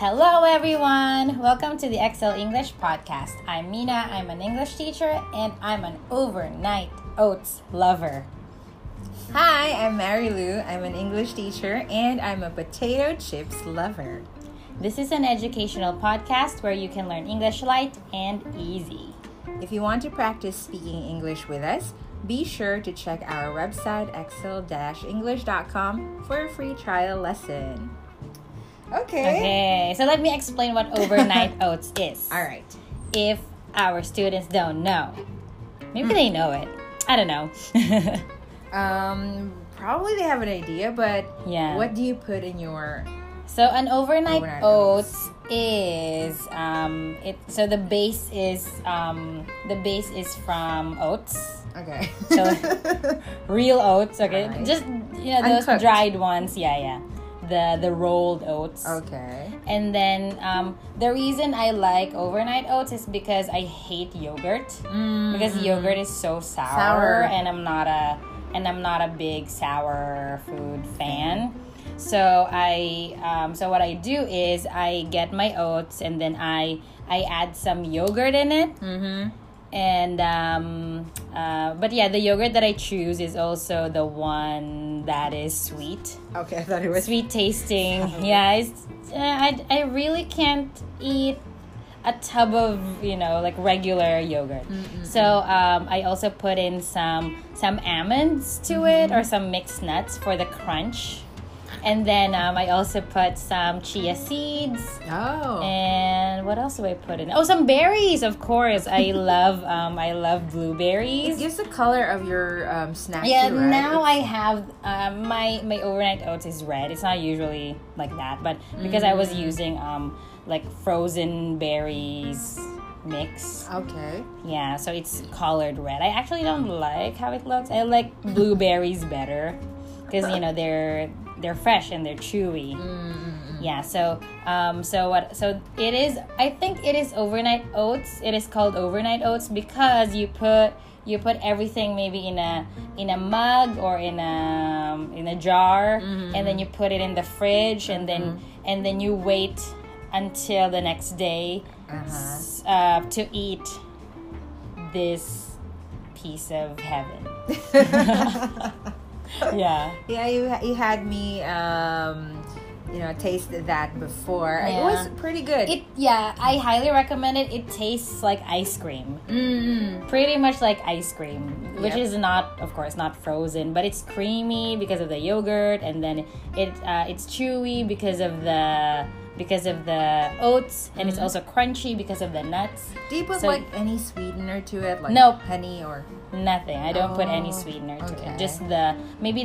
Hello, everyone. Welcome to the Excel English podcast. I'm Mina. I'm an English teacher, and I'm an overnight oats lover. Hi, I'm Mary Lou. I'm an English teacher, and I'm a potato chips lover. This is an educational podcast where you can learn English light and easy. If you want to practice speaking English with us, be sure to check our website excel-english.com for a free trial lesson. Okay, so let me explain what overnight oats is. All right. If our students don't know, maybe they know it. I don't know. Probably they have an idea, but Yeah. what do you put in your... So an overnight Overnight oats is so the base is from oats. Okay. So real oats, okay? Alright. Just those Uncooked. dried ones, yeah. The rolled oats. Okay. And then the reason I like overnight oats is because I hate yogurt. Because yogurt is so sour. and I'm not a big sour food fan. So so what I do is I get my oats and then I add some yogurt in it. And but yeah, the yogurt that I choose is also the one that is sweet. Okay, I thought it was... Sweet tasting. Yeah, I really can't eat a tub of like regular yogurt. So I also put in some almonds to it or some mixed nuts for the crunch. And then I also put some chia seeds. Oh. And what else do I put in? Oh, some berries, of course. I love blueberries. It gives the color of your snack Yeah, too, right? now I have my overnight oats is red. It's not usually like that, but because I was using like frozen berries mix. Okay. Yeah, so it's colored red. I actually don't like how it looks. I like blueberries better because they're fresh and they're chewy. Yeah, so it is. I think it is overnight oats. It is called overnight oats because you put everything maybe in a mug or in a jar, and then you put it in the fridge, and then you wait until the next day to eat this piece of heaven. Yeah. Yeah, you had me taste that before. Yeah. It was pretty good. I highly recommend it. It tastes like ice cream. Pretty much like ice cream, which is not, of course, not frozen, but it's creamy because of the yogurt, and then it's chewy because of the oats, and it's also crunchy because of the nuts. Do you put any sweetener to it, like Nope. honey or Nothing. I don't put any sweetener to okay. it. Just the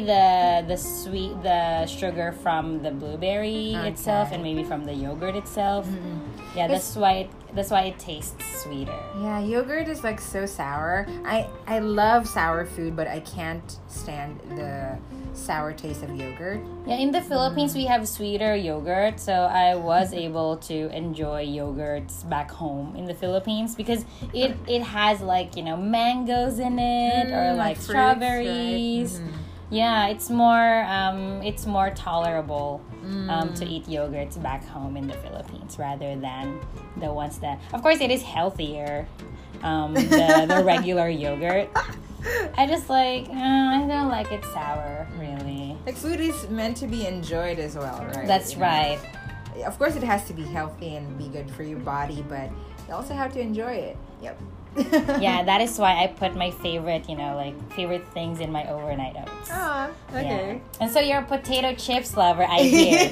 sugar from the blueberry itself, and maybe from the yogurt itself. Yeah, that's why it tastes sweeter. Yeah, yogurt is like so sour. I love sour food, but I can't stand the sour taste of yogurt. Yeah, in the Philippines we have sweeter yogurt, so I was able to enjoy yogurts back home in the Philippines because it has mangoes in it or like fruits, strawberries. right? Yeah, it's more tolerable to eat yogurts back home in the Philippines rather than the ones that, of course, it is healthier. The regular yogurt. I just I don't like it sour, really. Like food is meant to be enjoyed as well, right? That's right. Of course, it has to be healthy and be good for your body, but you also have to enjoy it. Yep. Yeah, that is why I put my favorite things in my overnight oats. Ah, okay. Yeah. And so you're a potato chips lover, I hear.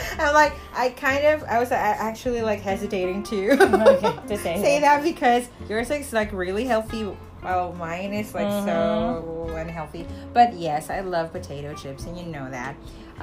I was actually hesitating to to say that because yours is really healthy. Well, mine is so unhealthy. But yes, I love potato chips, and you know that.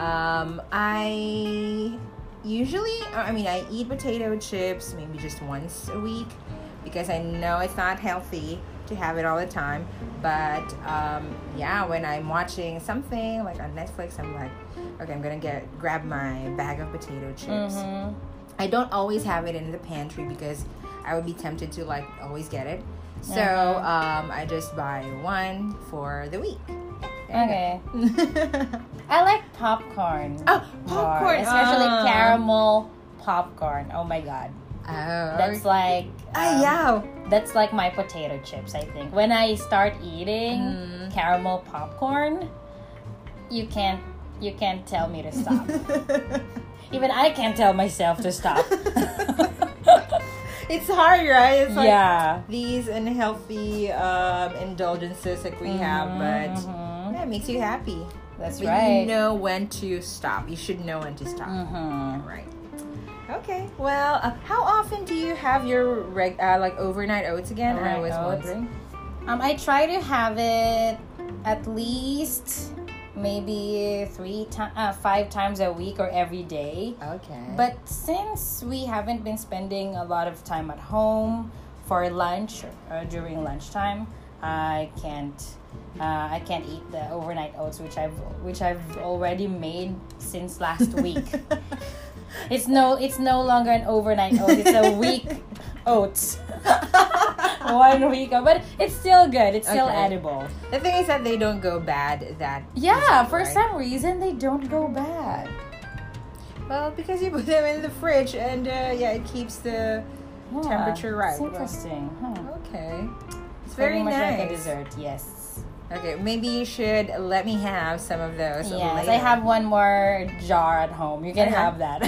I eat potato chips maybe just once a week because I know it's not healthy to have it all the time. But when I'm watching something like on Netflix, I'm like, okay, I'm gonna grab my bag of potato chips. I don't always have it in the pantry because I would be tempted to always get it. So I just buy one for the week. Okay. I like popcorn. Oh, popcorn. Especially caramel popcorn. Oh my god. Oh, That's like yeah. that's like my potato chips, I think. When I start eating caramel popcorn, you can't tell me to stop. Even I can't tell myself to stop. It's hard, right? It's like Yeah. these unhealthy indulgences that we have, but yeah, it makes you happy. That's But right. you know when to stop. You should know when to stop. Right. Okay. Well, how often do you have your like overnight oats again? I was Overnight oats. wondering. I try to have it at least maybe 5 times a week or every day. Okay. But since we haven't been spending a lot of time at home for lunch during lunchtime, I can't eat the overnight oats which I've already made since last week. It's no longer an overnight oat. It's a week oats. 1 week, but it's still good. It's still edible. The thing is that they don't go bad. That Yeah, easily, for right? some reason they don't go bad. Well, because you put them in the fridge and it keeps the Yeah, temperature right. It's interesting. Huh. Okay. It's Pretty very much nice. like a dessert. Yes. Okay, maybe you should let me have some of those. Yes, later. I have one more jar at home. You can Okay. have that.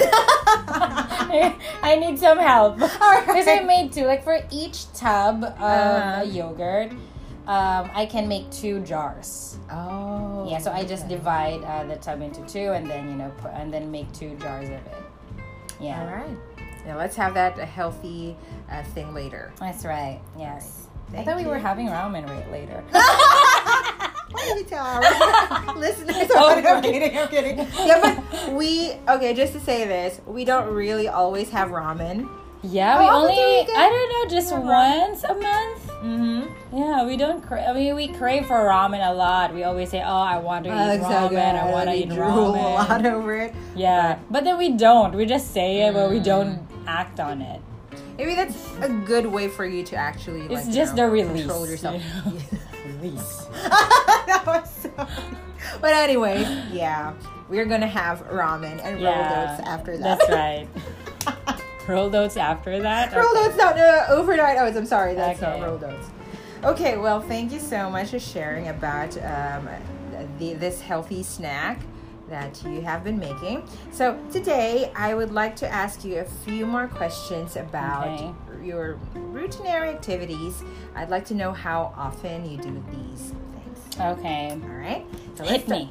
I need some help. Because I made 2. Like for each tub of yogurt, I can make 2 jars. Oh. Yeah, so I just divide the tub into 2 and then and then make 2 jars of it. Yeah. All right. Now let's have that healthy thing later. That's right. Yes. Thank I thought we were you. having ramen right later. Why did we tell our listeners? I'm kidding. Yeah, but just to say this, we don't really always have ramen. Yeah, How we often only, do we get I don't know, just ramen? once a month. Mm-hmm. Yeah, we don't we crave for ramen a lot. We always say, oh, I want to eat ramen. I want to eat drool ramen. a lot over it. Yeah, but then we don't. We just say it, but we don't act on it. Maybe that's a good way for you to actually It's just the release. control yourself. you know? Release. That was so funny. But anyways, yeah, we're gonna have ramen and rolled oats after that. That's right. Rolled oats after that? Rolled Okay. oats, not overnight oats. I'm sorry, that's not Okay. rolled oats. Okay, well, thank you so much for sharing about this healthy snack that you have been making. So today, I would like to ask you a few more questions about your routinary activities. I'd like to know how often you do these things. Okay. All right? So Hit me.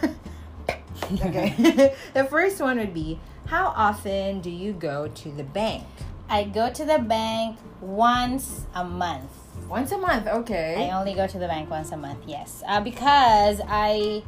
Okay. The first one would be, how often do you go to the bank? I go to the bank once a month. Once a month, okay. I only go to the bank once a month, yes. Because I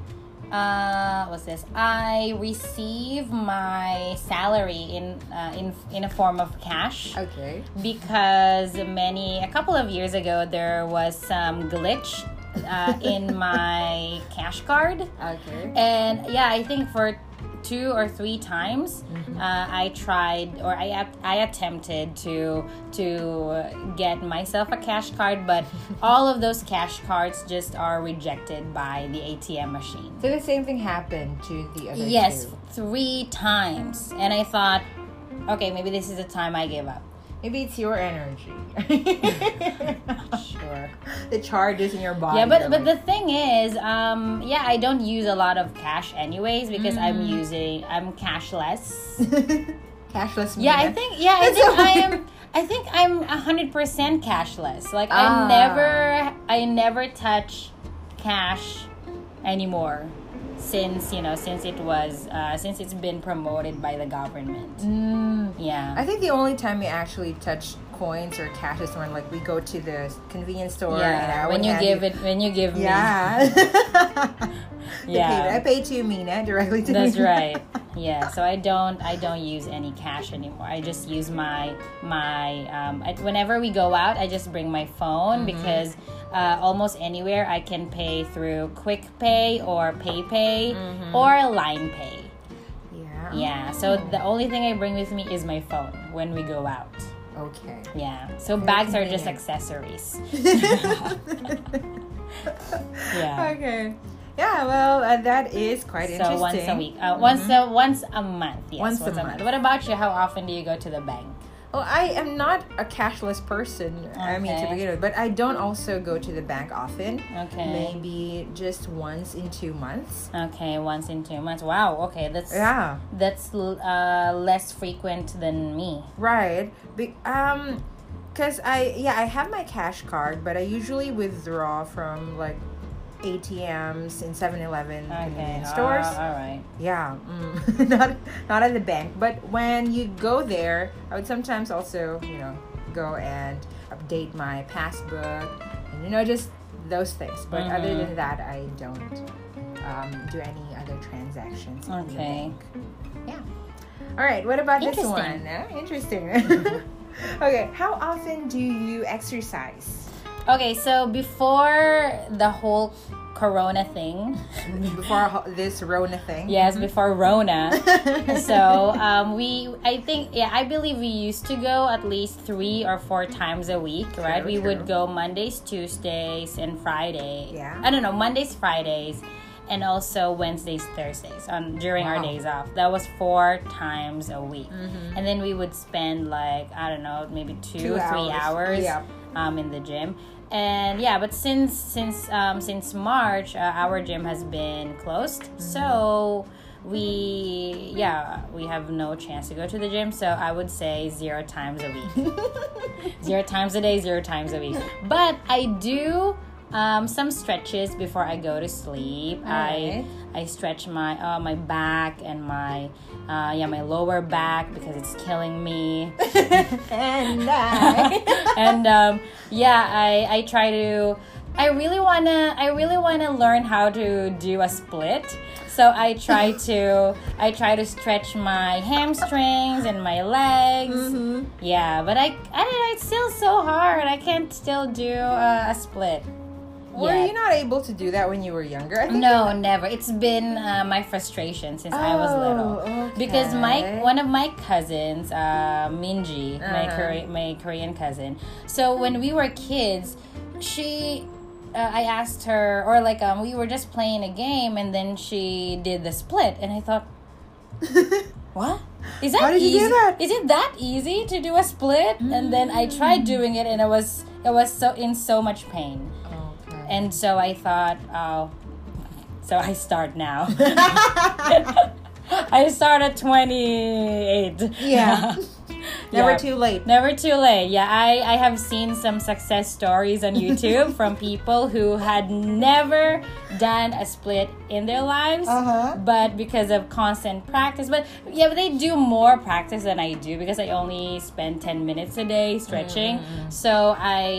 receive my salary in a form of cash. Okay. Because a couple of years ago there was some glitch in my cash card. Okay. And yeah, I think for 2 or 3 times I tried, or I attempted to get myself a cash card, but all of those cash cards just are rejected by the ATM machine. So the same thing happened to the other Yes, two. 3 times. And I thought, okay, maybe this is the time I give up. Maybe it's your energy. Sure. The charges in your body. Yeah, but are the thing is, I don't use a lot of cash anyways because I'm cashless. Cashless. Yeah, Mina. I think I'm 100% cashless. Like I never touch cash anymore since it's been promoted by the government. Yeah. I think the only time we actually touch coins or cash is when like we go to the convenience store. Yeah, and when you give me. Yeah. Yeah. I pay to Mina directly to That's Mina. right. Yeah, so I don't use any cash anymore. I just use my whenever we go out, I just bring my phone because almost anywhere I can pay through Quick Pay or PayPay or Line Pay. Yeah. Yeah, so the only thing I bring with me is my phone when we go out. Okay. Yeah, so bags are just accessories. Yeah. Okay. Yeah, well, that is quite interesting. So once a week, once a month. Yes, Once a month. What about you? How often do you go to the bank? Well, I am not a cashless person. I mean, to Okay. begin with, but I don't also go to the bank often. Okay. Maybe just once in 2 months. Okay, once in 2 months. Wow. Okay, Yeah, that's less frequent than me. right. Cause I have my cash card, but I usually withdraw from like ATMs in 7-Eleven Okay. convenience stores. All right. Yeah, not at the bank. But when you go there, I would sometimes also, go and update my passbook, and just those things. But other than that, I don't do any other transactions in the Okay. bank. Yeah. All right. What about this one? Interesting. Interesting. Okay. How often do you exercise? Okay, so before the whole Corona thing, Before this Rona thing. yes, before Rona, so I believe we used to go at least 3 or 4 times a week, right? We would True. go Mondays, Tuesdays, and Fridays. Yeah. I don't know, Mondays, Fridays, and also Wednesdays, Thursdays during our Wow. days off. That was 4 times a week, and then we would spend like I don't know, maybe 2 3 hours Yep. in the gym. And yeah, but since March, our gym has been closed, so we have no chance to go to the gym. So I would say 0 times a week, 0 times a day, 0 times a week. But I do some stretches before I go to sleep. Alright. I stretch my back and my lower back because it's killing me. And I. And I try to. I really wanna learn how to do a split. So I try to stretch my hamstrings and my legs. Yeah, but I don't know. It's still so hard. I can't still do a split. Were yet. you not able to do that when you were younger? I think No, never. It's been my frustration since I was little. okay. Because one of my cousins, Minji, my Korean cousin. So when we were kids, I asked her, or we were just playing a game, and then she did the split, and I thought, what? Is that How did easy? you do that? Is it that easy to do a split? And then I tried doing it, and it was so much pain. Okay. And so I thought, so I start now. I start at 28. Yeah. Never Yeah. too late. Never too late. Yeah, I have seen some success stories on YouTube from people who had never done a split in their lives, but because of constant practice. But they do more practice than I do because I only spend 10 minutes a day stretching. So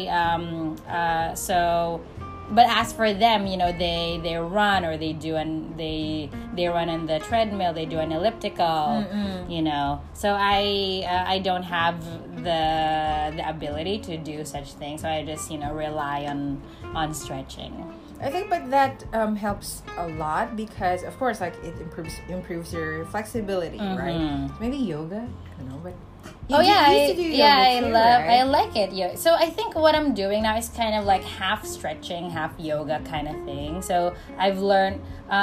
but as for them, they run, or they run on the treadmill, they do an elliptical, So I don't have the ability to do such things, so I just rely on stretching. I think, but that helps a lot because, of course, it improves your flexibility, right? Maybe yoga, I don't know, but. You used to do yoga too, I right? like it. Yeah. So I think what I'm doing now is kind of like half stretching, half yoga kind of thing. So I've learned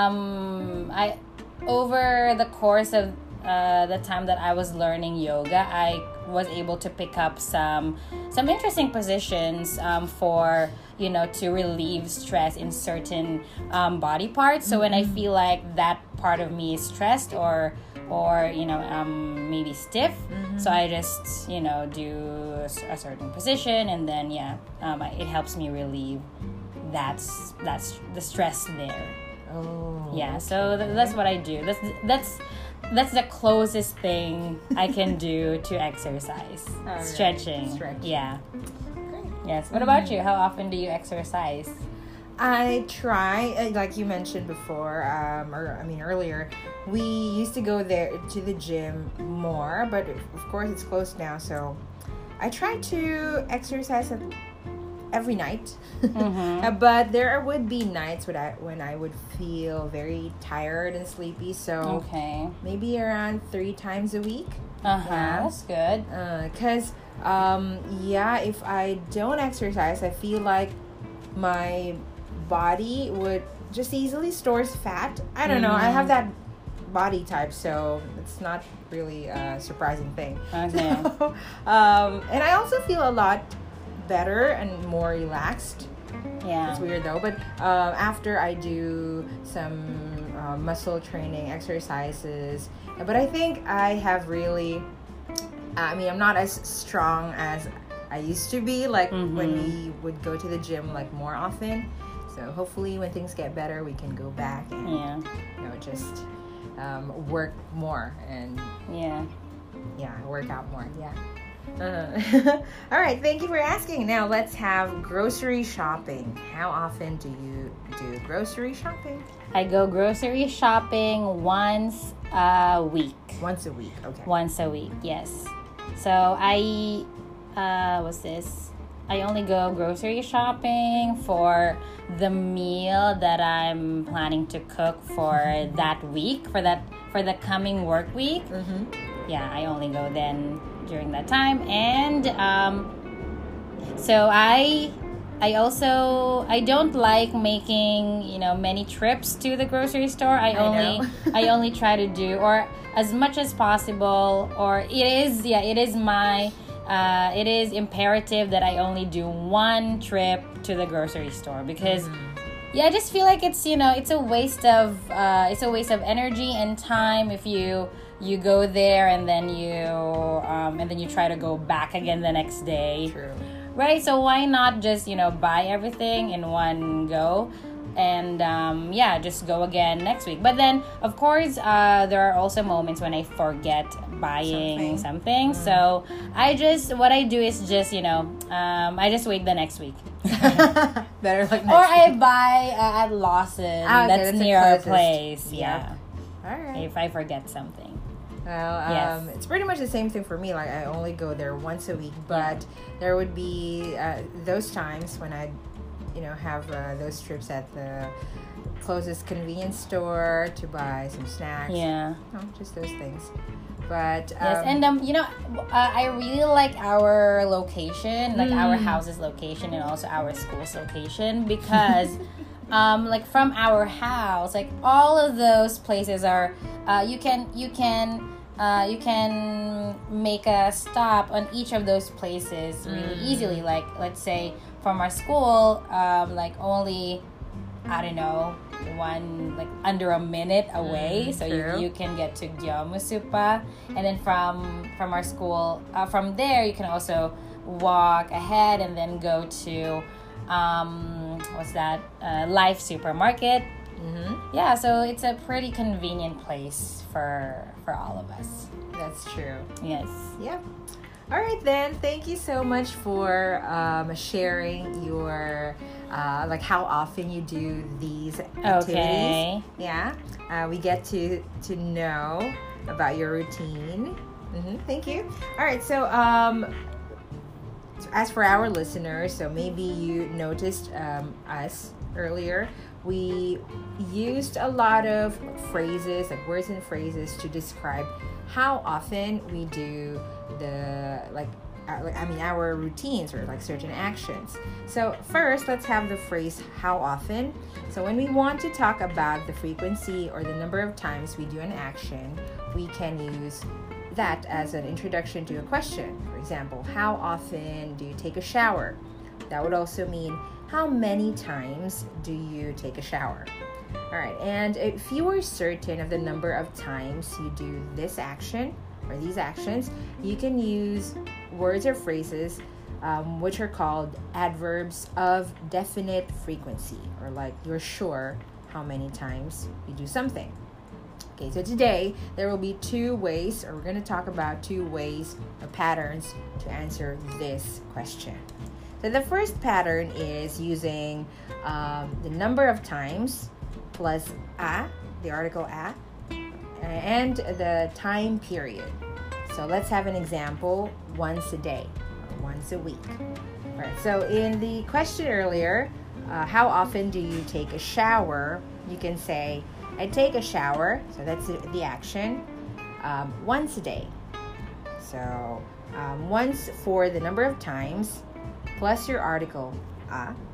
over the course of the time that I was learning yoga, I was able to pick up some interesting positions for to relieve stress in certain body parts. So when I feel like that part of me is stressed or maybe stiff, so I just do a certain position, and then it helps me relieve that's the stress there. Oh. Yeah, so that's what I do. That's the closest thing I can do to exercise. Alright. Stretching. Yeah. Great. Yes. What about you? How often do you exercise? I try, like you mentioned before, earlier, we used to go there to the gym more, but of course it's closed now, so I try to exercise every night. But there would be nights when I would feel very tired and sleepy, so Okay. maybe around 3 times a week. That's good. Because if I don't exercise, I feel like my body would just easily stores fat. I don't know. I have that body type, so it's not really a surprising thing. Okay. So, and I also feel a lot better and more relaxed. Yeah. It's weird though, but after I do some muscle training exercises, but I think I have really, I mean, I'm not as strong as I used to be, like when we would go to the gym like more often. So hopefully when things get better, we can go back and just work more and work out more. All right, thank you for asking. Now let's have grocery shopping. How often do you do grocery shopping? I go grocery shopping once a week. Once a week, okay. Once a week, yes. So I I only go grocery shopping for the meal that I'm planning to cook for that week, for the coming work week. Yeah, I only go then during that time. And so I don't like making many trips to the grocery store. I only try to do, or as much as possible, or it is imperative that I only do one trip to the grocery store, because I just feel like it's a waste of energy and time if you go there and then you try to go back again the next day. True. Right? So why not just buy everything in one go, and just go again next week. But then of course there are also moments when I forget buying something. So what I do is just I just wait the next week. Better like next or I week. buy at Lawson. That's near our place. Yeah. All right. If I forget something. Well, it's pretty much the same thing for me. Like I only go there once a week, but there would be those times when I, have those trips at the closest convenience store to buy some snacks. Yeah. Just those things. But yes, and I really like our location, like our house's location, and also our school's location, because like from our house, like all of those places are you can make a stop on each of those places really easily. Like let's say from our school, like only, I don't know, under a minute away, so you can get to Gyomusupa, and then from our school, from there you can also walk ahead and then go to Life Supermarket. Yeah, so it's a pretty convenient place for all of us. That's true. Yes. Yep. All right then. Thank you so much for sharing your how often you do these activities. Okay. Yeah. We get to know about your routine. Thank you. All right. So as for our listeners, so maybe you noticed us earlier. We used a lot of phrases, like words and phrases, to describe how often we do our routines, or like certain actions. So first, let's have the phrase how often. So when we want to talk about the frequency or the number of times we do an action, we can use that as an introduction to a question. For example, how often do you take a shower? That would also mean, how many times do you take a shower? All right, and if you are certain of the number of times you do this action or these actions, you can use words or phrases which are called adverbs of definite frequency, or like you're sure how many times you do something. Okay, so today there will be two ways, or we're going to talk about two ways or patterns to answer this question. So the first pattern is using the number of times plus a, the article a, and the time period. So let's have an example: once a day or once a week. All right, so in the question earlier, how often do you take a shower? You can say, I take a shower, so that's the action, once a day. So once for the number of times, plus your article a,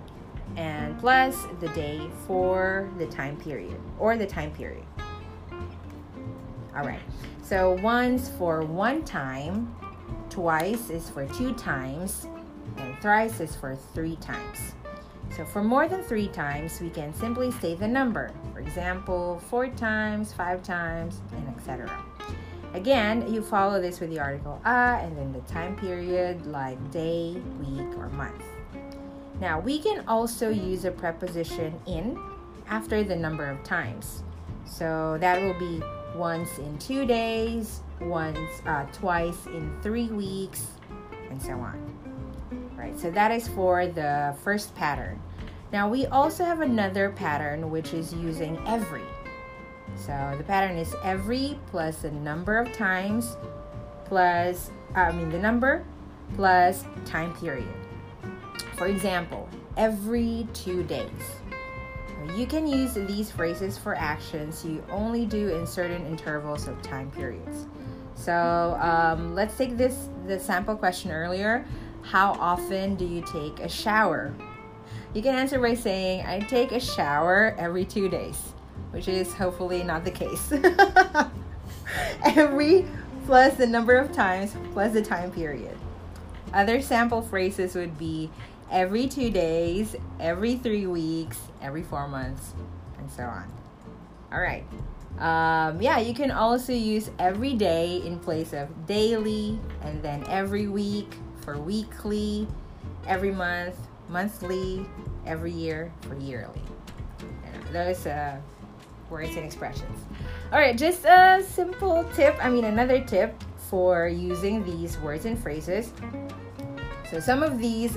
and plus the day for the time period or the time period. All right. So once for one time, twice is for two times, and thrice is for three times. So for more than three times, we can simply say the number. For example, 4 times, 5 times, and etc. Again, you follow this with the article and then the time period like day, week, or month. Now, we can also use a preposition in after the number of times. So that will be once in 2 days, twice in 3 weeks, and so on. Right, so that is for the first pattern. Now we also have another pattern which is using every. So the pattern is every plus the number of times plus, the number plus time period. For example, every 2 days. You can use these phrases for actions you only do in certain intervals of time periods. So let's take the sample question earlier. How often do you take a shower? You can answer by saying, I take a shower every 2 days, which is hopefully not the case. Every plus the number of times plus the time period. Other sample phrases would be every 2 days, every 3 weeks, every 4 months, and so on. All right. You can also use every day in place of daily, and then every week for weekly, every month, monthly, every year for yearly. Those words and expressions. All right, just a simple tip. Another tip for using these words and phrases. So some of these,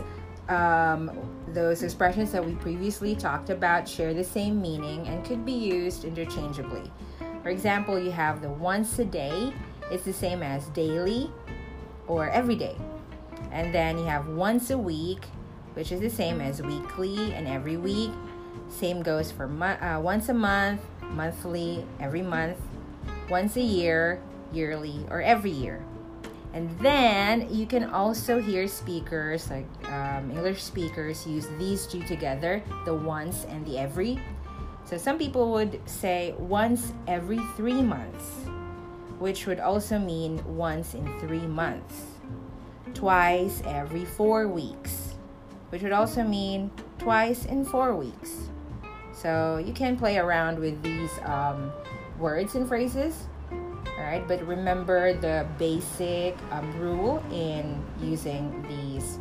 those expressions that we previously talked about share the same meaning and could be used interchangeably. For example, you have the once a day. It's the same as daily or every day. And then you have once a week, which is the same as weekly and every week. Same goes for once a month, monthly, every month, once a year, yearly, or every year. And then you can also hear speakers, like English speakers, use these two together, the once and the every. So some people would say once every 3 months, which would also mean once in 3 months. Twice every 4 weeks, which would also mean twice in 4 weeks. So you can play around with these words and phrases. All right, but remember the basic rule in using these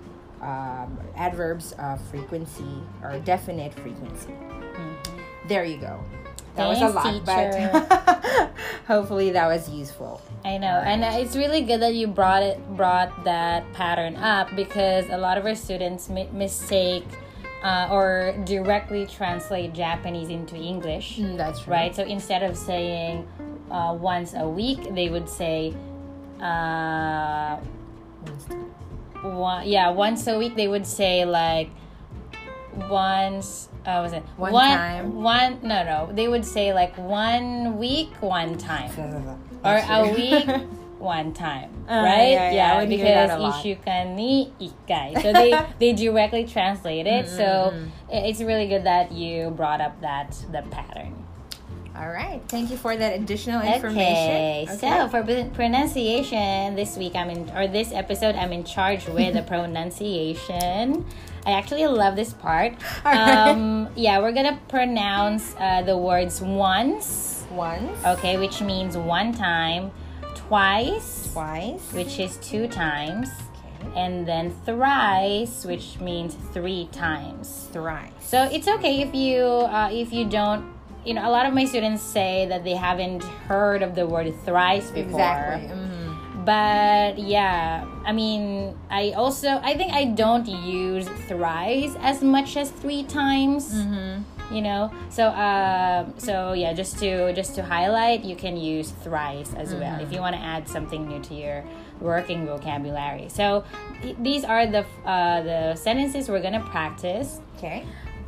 adverbs of frequency or definite frequency. Mm-hmm. There you go. That was a lot, teacher. But hopefully that was useful. I know, and it's really good that you brought that pattern up, because a lot of our students mistake or directly translate Japanese into English. That's true. Right? So instead of saying once a week, they would say once a week. They would say like once. One time? No. They would say like 1 week, 1 time, or a week, 1 time, right? Yeah, because ishukan ni ikkai. So they directly translate it. Mm-hmm. So it's really good that you brought up the pattern. All right, thank you for that additional information. Okay. So for pronunciation this week, this episode, I'm in charge with the pronunciation. I actually love this part. We're gonna pronounce the words once. Okay, which means 1 time. Twice, which is 2 times. Okay. And then thrice, which means 3 times. Thrice. So it's okay if you don't. A lot of my students say that they haven't heard of the word thrice before. Exactly. Mm-hmm. But yeah, I think I don't use thrice as much as 3 times. Mm-hmm. So yeah, just to highlight, you can use thrice as well if you want to add something new to your working vocabulary. So these are the sentences we're gonna practice. Okay.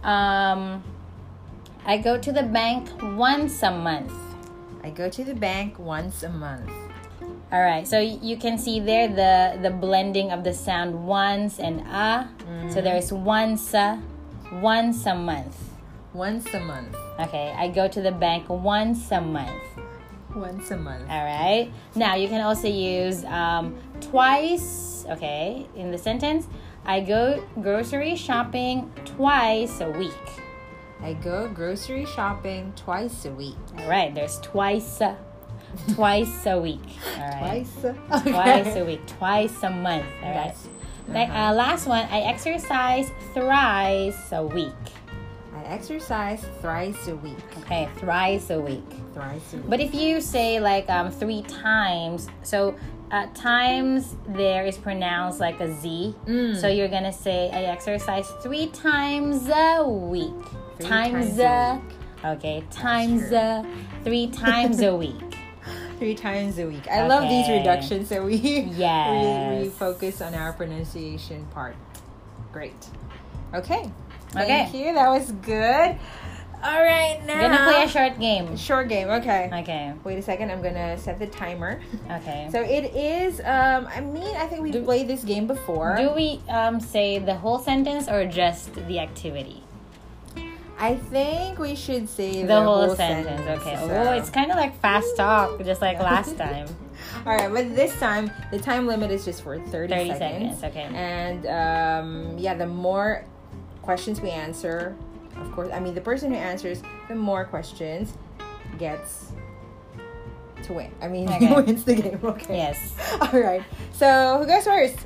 I go to the bank once a month. I go to the bank once a month. All right, so you can see there the blending of the sound once and a. Mm-hmm. So there's once a, once a month. Once a month. Okay, I go to the bank once a month. Once a month. All right. Now you can also use twice. Okay, in the sentence, I go grocery shopping twice a week. I go grocery shopping twice a week. All right. There's twice a week. All right. Okay. Twice a week. Twice a month. All right. Last one. I exercise thrice a week. I exercise thrice a week. Okay, thrice a week. Thrice a week. But if you say like 3 times, so times there is pronounced like a Z. So you're gonna say I exercise 3 times a week. Times a week. Okay, times 3 times a week. 3 times a week. I love these reductions, so we we focus on our pronunciation part. Great. Okay. Thank you. That was good. All right, now I'm gonna play a short game. Short game. Okay. Okay. Wait a second. I'm gonna set the timer. Okay. So it is. I think we've played this game before. Do we say the whole sentence or just the activity? I think we should say the whole sentence. Okay. So. Oh, it's kind of like fast talk, just like last time. All right, but this time the time limit is just for 30 seconds. Okay. And the more questions we answer, of course, the person who answers the more questions gets to win. He wins the game. Okay. Yes. All right. So who goes first?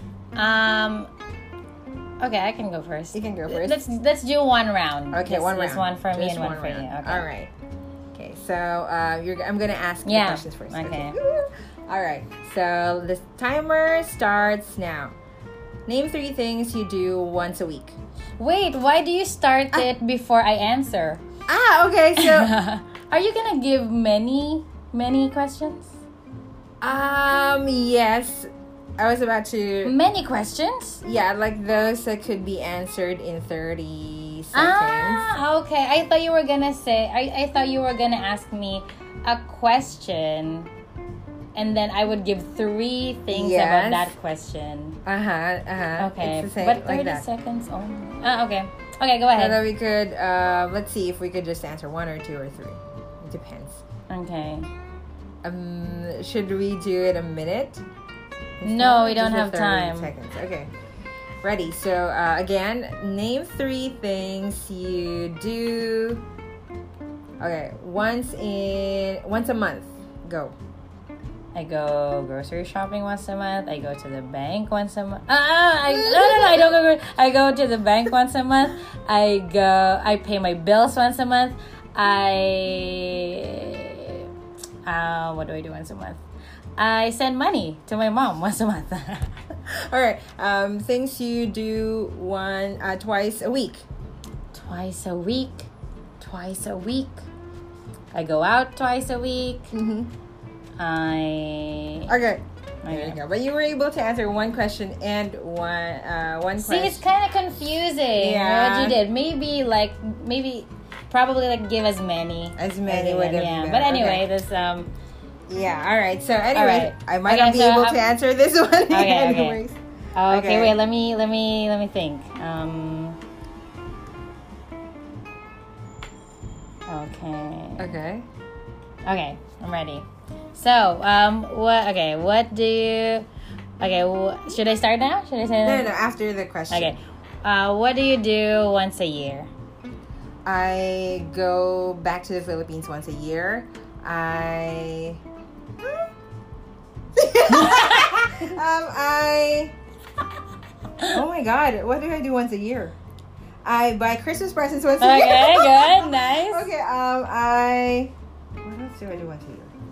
Okay, I can go first. You can go first. Let's do one round. Okay, one round. Just one for me just and one for you. Okay. All right. Okay, so I'm gonna ask you the questions first. Okay. All right. So the timer starts now. Name 3 things you do once a week. Wait, why do you start it before I answer? Okay. So are you gonna give many questions? Yes. I was about to... Many questions? Yeah, like those that could be answered in 30 seconds. Okay. I thought you were gonna say... I thought you were gonna ask me a question and then I would give 3 things about that question. It's Okay. the same, but 30 like seconds only. Okay. Okay, go ahead. So that we could... let's see if we could just answer 1 or 2 or 3. It depends. Okay. Should we do it a minute? No, we don't have 30 time. Seconds. Okay. Ready. So, again, name 3 things you do. Okay. Once a month. Go. I go grocery shopping once a month. I go to the bank once a month. I don't go. I go to the bank once a month. I pay my bills once a month. What do I do once a month? I send money to my mom once a month. All right. Things you do twice a week. Twice a week. I go out twice a week. Mm-hmm. Okay. There you go. But you were able to answer 1 question and one question. See, it's kind of confusing. Yeah. What you did. Probably give as many. As many would have been. But anyway, this Yeah, all right. So anyway, right. I might not be able to answer this one. Okay. Okay, wait, let me think. Okay, I'm ready. So, should I start now? Should I say that? No, after the question. Okay. What do you do once a year? I go back to the Philippines once a year. Oh my God, what do I do once a year? I buy Christmas presents once a year. Okay, good, nice. Okay, what else do I do once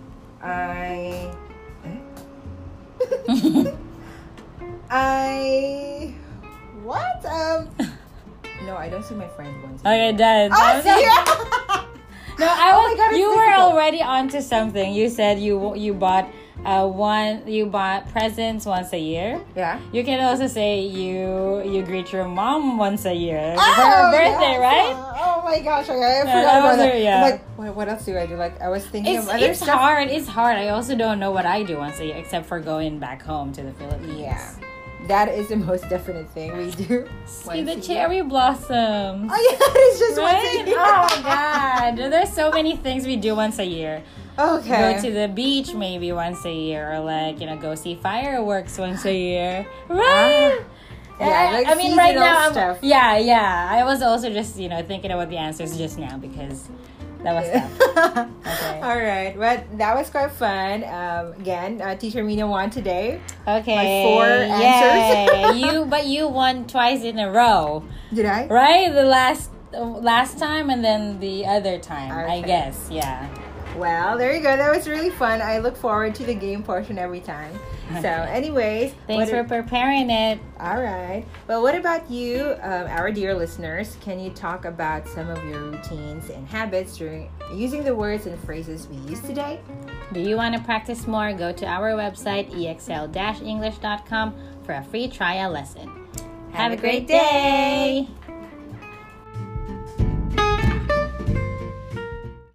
a year? What? No, I don't see my friends once a year. Okay, done. No, you were already onto something. You said you bought presents once a year. Yeah. You can also say you greet your mom once a year for her birthday, right? Oh my gosh, I forgot about that. Yeah. I'm like, what else do I do? Like, I was thinking of other it's stuff. It's hard. I also don't know what I do once a year except for going back home to the Philippines. Yeah. that is the most definite thing we do. See the cherry blossoms. Oh yeah, it's just Right? once a year. Oh God, there's so many things we do once a year. Okay. Go to the beach maybe once a year, or like go see fireworks once a year, right? Yeah, like I mean, right seasonal now, stuff. yeah. I was also just thinking about the answers just now because that was tough. Okay. All right, but that was quite fun. Again, Teacher Mina won today. Okay. My 4 answers. Yay. You won twice in a row, Did I? right? The last time and then the other time, I Okay. guess. Yeah. Well, there you go. That was really fun. I look forward to the game portion every time. So, anyways, Thanks for preparing it. all right. Well, what about you, our dear listeners? Can you talk about some of your routines and habits during using the words and phrases we used today? Do you want to practice more? Go to our website, exl-english.com, for a free trial lesson. Have a great day!